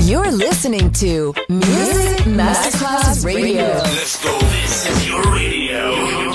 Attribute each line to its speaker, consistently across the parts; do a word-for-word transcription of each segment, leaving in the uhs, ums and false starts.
Speaker 1: You're listening to Music Masterclass Radio.
Speaker 2: Let's go. This is your radio.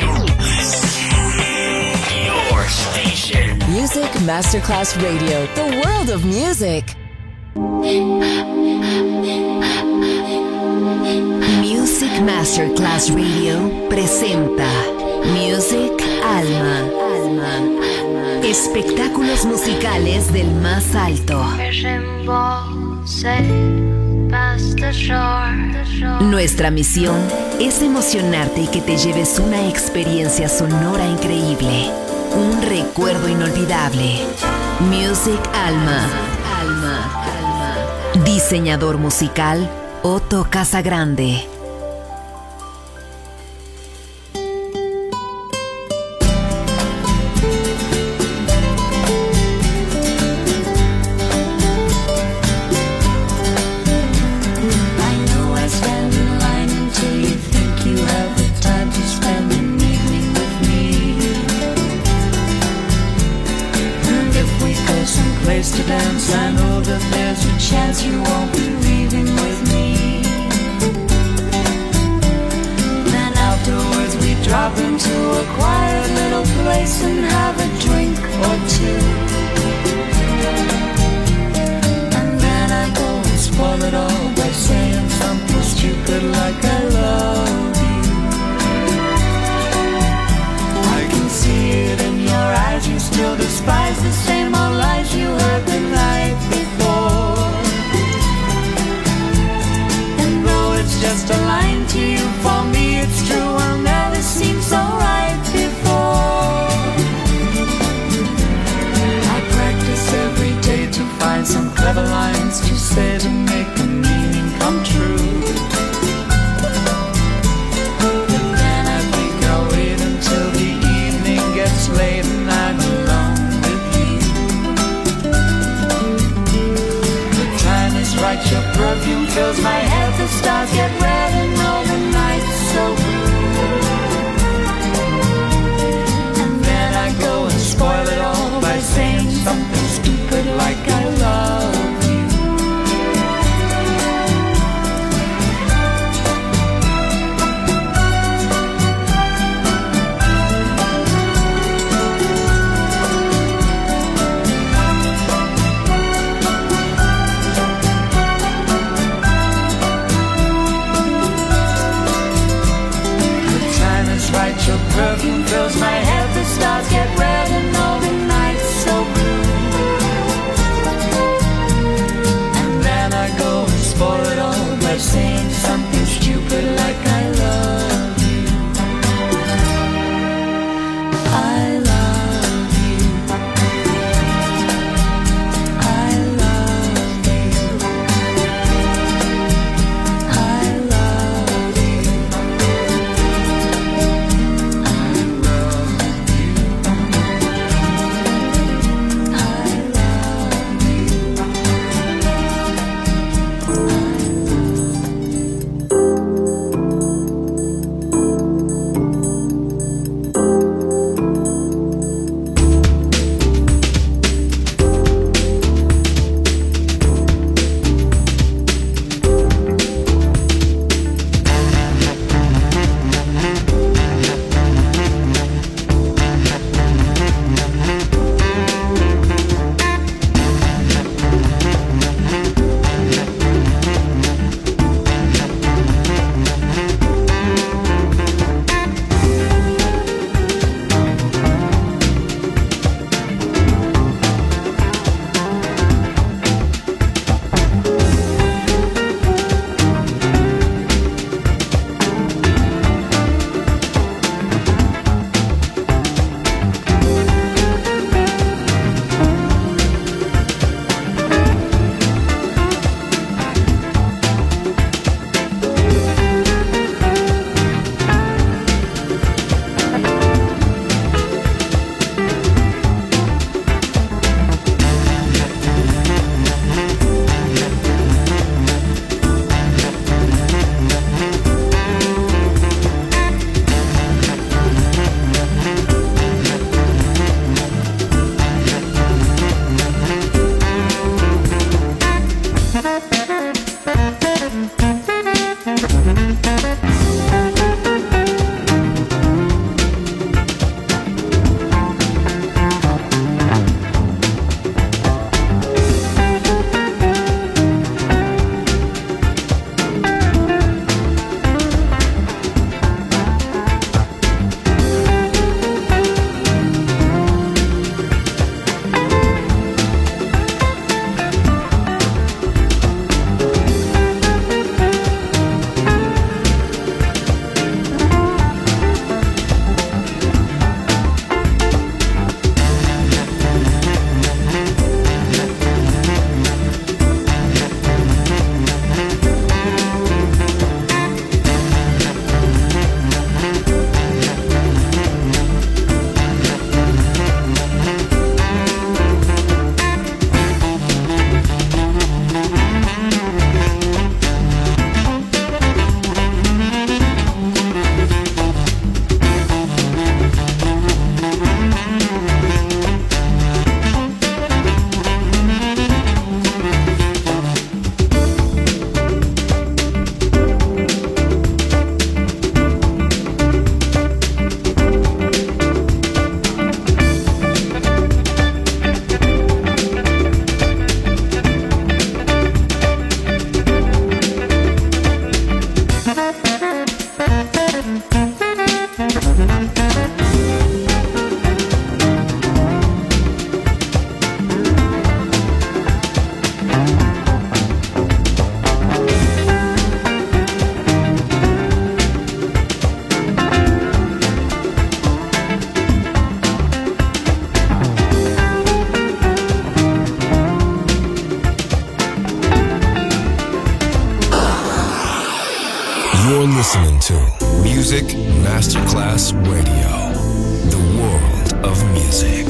Speaker 2: Your station.
Speaker 1: Music Masterclass Radio. The world of music.
Speaker 3: Music Masterclass Radio presenta Music Alma. Alma. Espectáculos musicales del más alto. Nuestra misión es emocionarte y que te lleves una experiencia sonora increíble, un recuerdo inolvidable. Music Alma. Alma. Alma. Diseñador musical Otto Casagrande.
Speaker 4: To dance, I know that there's a chance you won't be leaving with me. Then afterwards we drop into a quiet little place and have a drink or two. And then I go and spoil it all by saying something stupid like I love you. I can see it in your eyes, you still despise the same old lies you heard the night before. And though it's just a line to you, for me it's true, I'll never seem so right before. I practice every day to find some clever lines to say to make the meaning come true. But then I think I'll wait until the evening gets late and I'm alone. Right, your perfume fills my head, the stars get red and all the nights so blue. And then I go and spoil it all by saying something stupid like I love you. Your perfume fills my head, the stars get red and all the nights so blue. And then I go and spoil it all by saying something stupid like I love you. I love you. I love you. I love you.
Speaker 5: You're listening to Music Masterclass Radio, the world of music.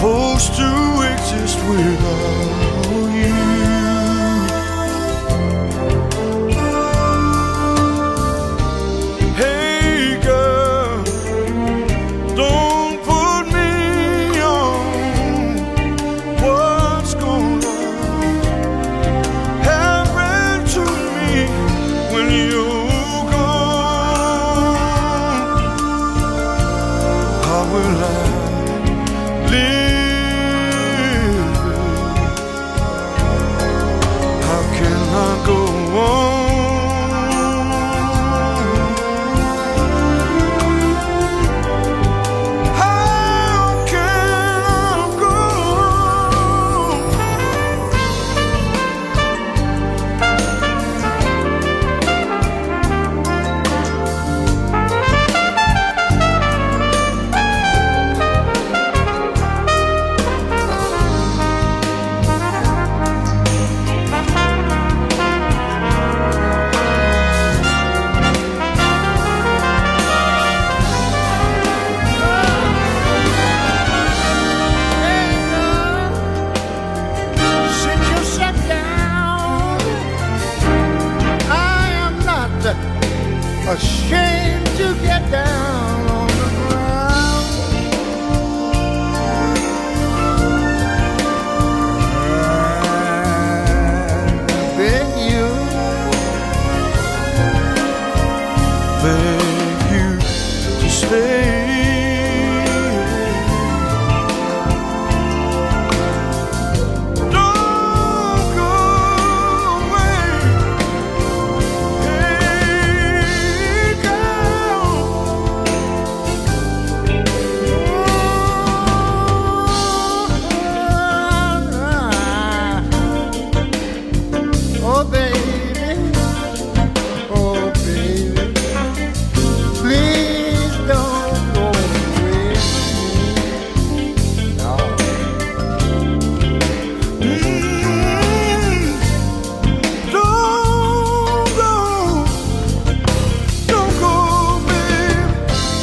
Speaker 4: supposed to exist without you. Hey girl, don't put me on what's gonna happen to me when you're gone. How will I live? How can I go on? How can I go on? Since you sat down, I am not ashamed to get down on the ground. I beg you, beg you to stay. Don't go away. Hey, girl. Oh, baby. Oh, baby. Please don't go away. No. Mm, don't go. Don't go, baby.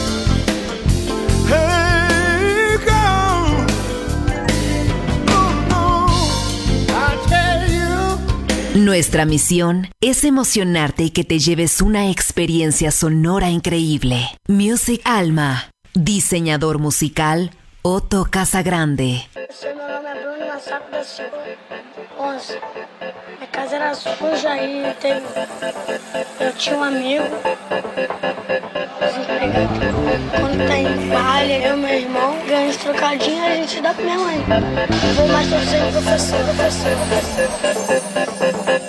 Speaker 4: Hey, girl. No, no. I tell you.
Speaker 3: Nuestra misión es emocionarte y que te lleves una experiencia sonora increíble. Music Alma. Diseñador musical Otto Casagrande.
Speaker 6: Meu nome é Bruno Massaco da Silva, onze. Minha casa era suja e teve... eu tinha um amigo desempregado. Quando tem baile, eu e meu irmão ganhamos trocadinho e a gente dá pra minha mãe. Vou mais torcer professor, professor, professor.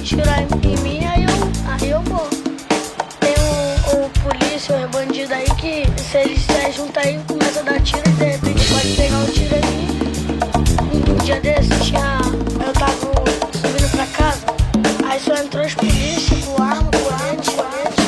Speaker 6: atirar em mim, aí eu, aí eu morro. Tem o, o polícia, os bandidos aí que se eles se juntam aí, começam a dar tiro e de repente pode pegar um tiro em mim. Um dia desse tinha. Eu tava subindo pra casa, aí só entrou os polícias com arma, colete, colete.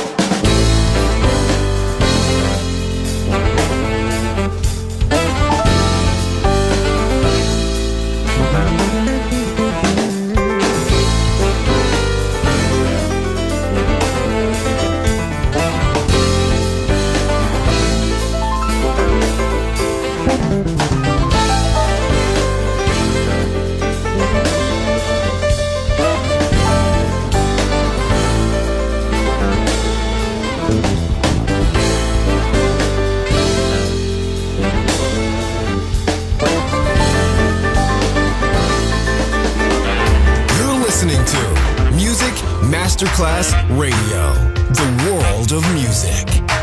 Speaker 5: Masterclass Radio, the world of music.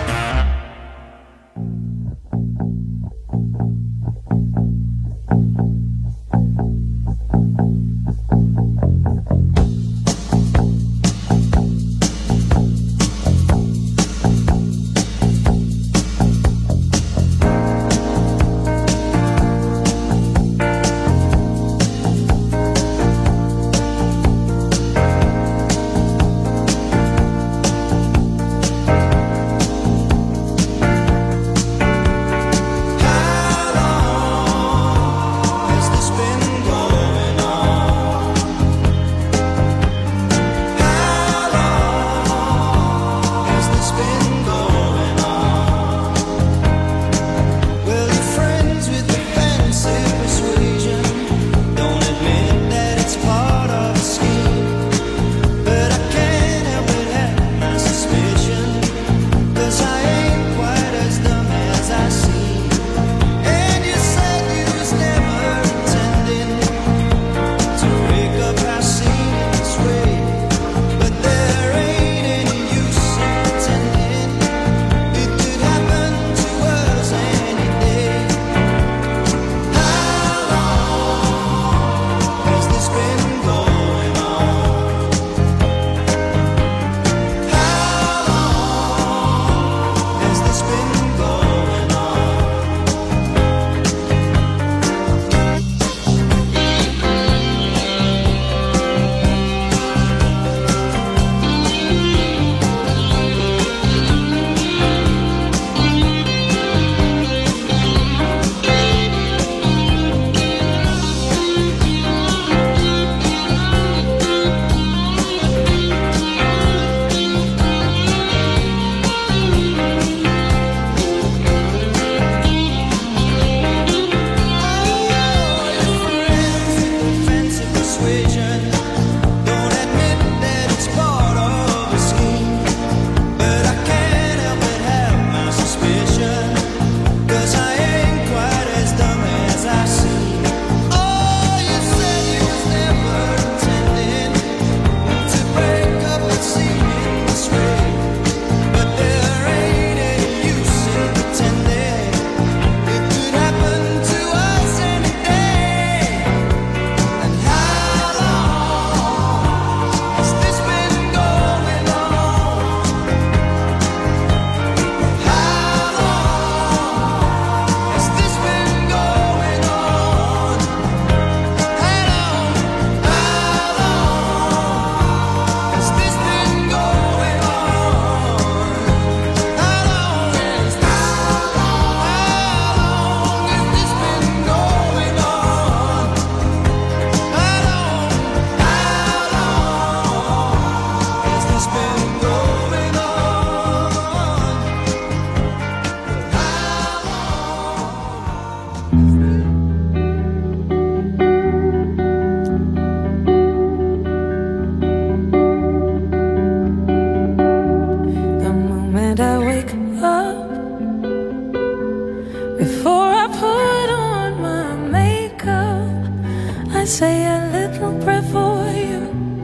Speaker 7: say a little prayer for you.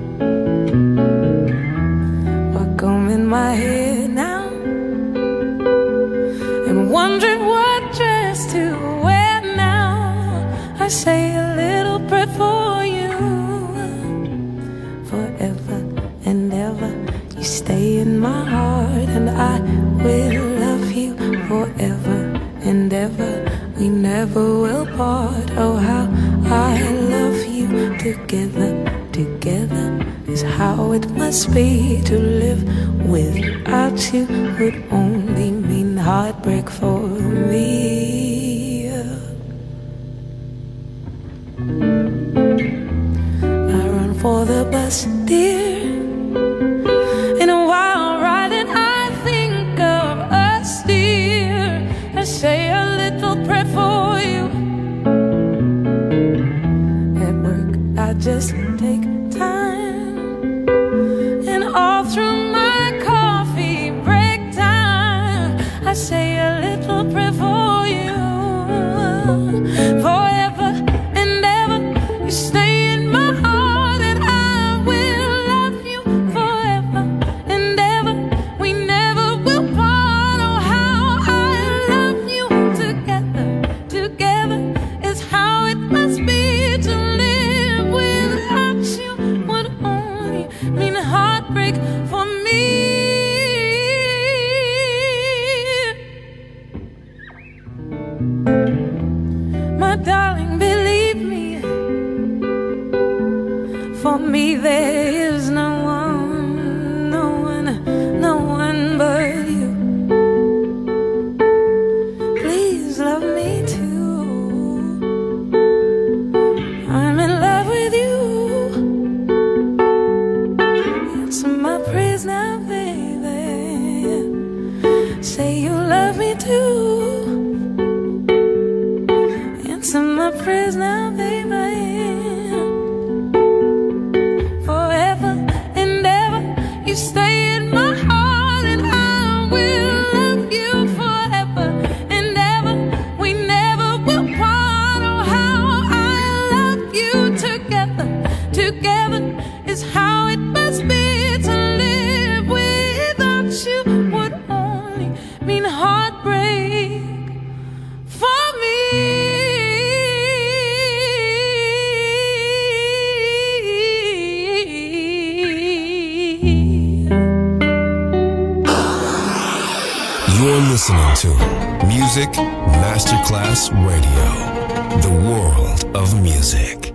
Speaker 7: While combing my hair now and wondering what dress to wear now, I say a little prayer for you, for heart, and I will love you forever and ever. We never will part. Oh, how I love you. Together, together is how it must be. To live without you would only mean heartbreak for me. I run for the bus, dear. In a wild ride, and I think of us, dear. I say a little prayer for you. At work, I just take time, and all through my coffee break time, I say a little prayer for you. Forever and ever, you stay in my heart, and I will love you forever and ever. We never will part. Oh, how I love you. Together, together is how it must be. To live without you would only mean heartbreak for me. My darling, believe me, for me there is no one, no one, no one but you. Please love me too. I'm in love with you. Answer my prayers now, baby. Say you love me too. Answer my prayers now, baby. Forever and ever, you stay in my heart, and I will love you forever and ever. We never will part. Oh, how I love you. Together, together is how it must be. To live without you would only mean heartbreak for me.
Speaker 5: You're listening to Music Masterclass Radio, the world of music.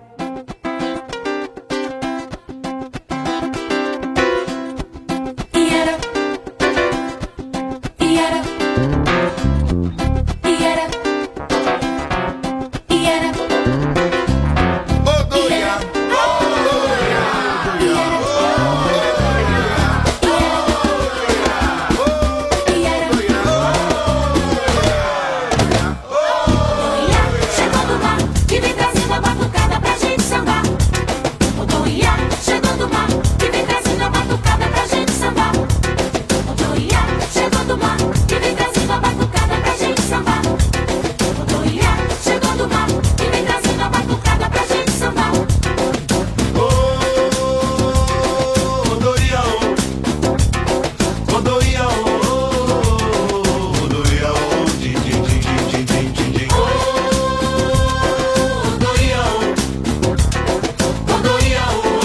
Speaker 8: Chegando lá, que vem trazendo a batucada pra gente sambar. Odoiá, chegando lá, que vem trazendo a batucada pra gente sambar. Odoiá, chegando lá, que vem trazendo a batucada pra gente sambar. Odoiá, chegando lá, que vem trazendo a batucada pra gente sambar.
Speaker 9: Odoiá, Odoiá, Odoiá, din din din din din din din. Odoiá, Odoiá,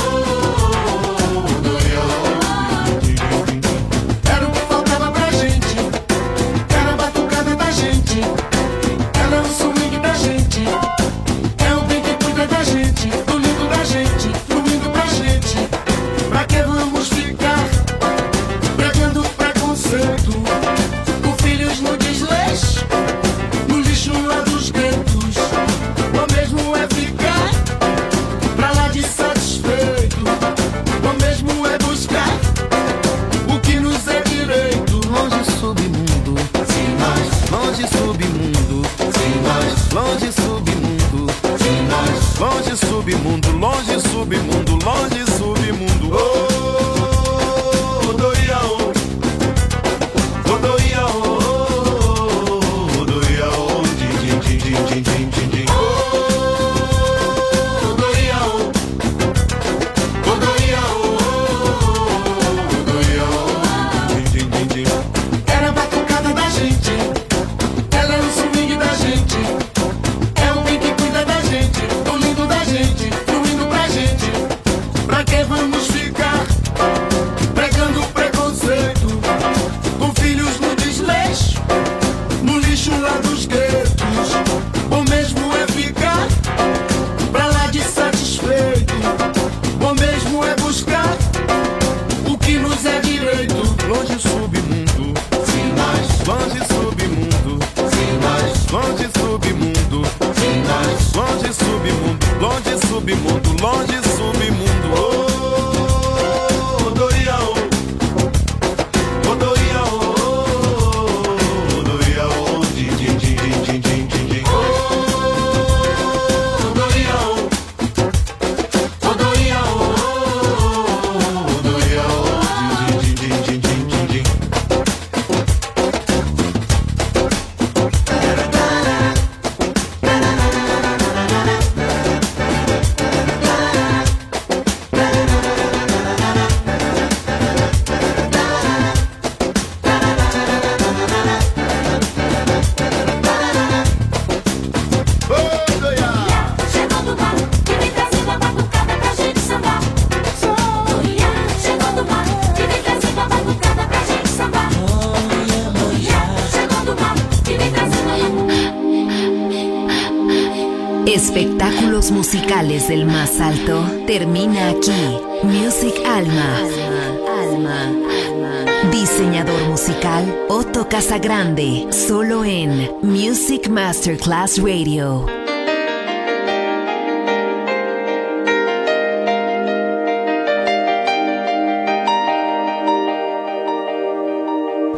Speaker 9: Odoiá, din din din din. Era o que faltava pra gente, era a batucada da gente, era o swing da gente, é o bem que cuida da gente, do lindo da gente, fluindo pra gente. Pra que vamos ficar pregando preconceito, com filhos no desleixo, no lixo lá dos guetos? O mesmo é ficar pra lá de satisfeito, o mesmo é buscar o que nos é direito.
Speaker 10: Longe submundo,
Speaker 9: Sim, nós,
Speaker 10: longe submundo,
Speaker 9: sim, nós,
Speaker 10: longe submundo,
Speaker 9: sim, nós.
Speaker 10: longe submundo, longe submundo, longe submundo.
Speaker 9: Oh, Odoiá, Odoiá, Odoiá, din din din din din din din din. Odoiá, Odoiá, Odoiá, din din din din. Era a batucada da gente, ela é o swing da gente, é o bem que cuida da gente, o lindo da gente, fluindo pra gente. Pra que vamos ficar
Speaker 10: longe, submundo.
Speaker 9: Oh, Odoia, oh. Odoia, oh. Odoia, oh. Din, din, din, din, din, din, din, din. Oh, Odoia, oh. Odoia, oh. Odoia, oh. Din, din, din, din, din, din, din.
Speaker 8: Chegou do mar, que vem trazendo a batucada pra gente sambar. Oiá, chegou do mar, que vem trazendo a batucada pra gente sambar. Oiá, chegou do mar, que vem trazendo a...
Speaker 3: Espectáculos musicales del más alto termina aquí. Music Alma. Alma. Diseñador musical Otto Casagrande, solo en Music Masterclass Radio.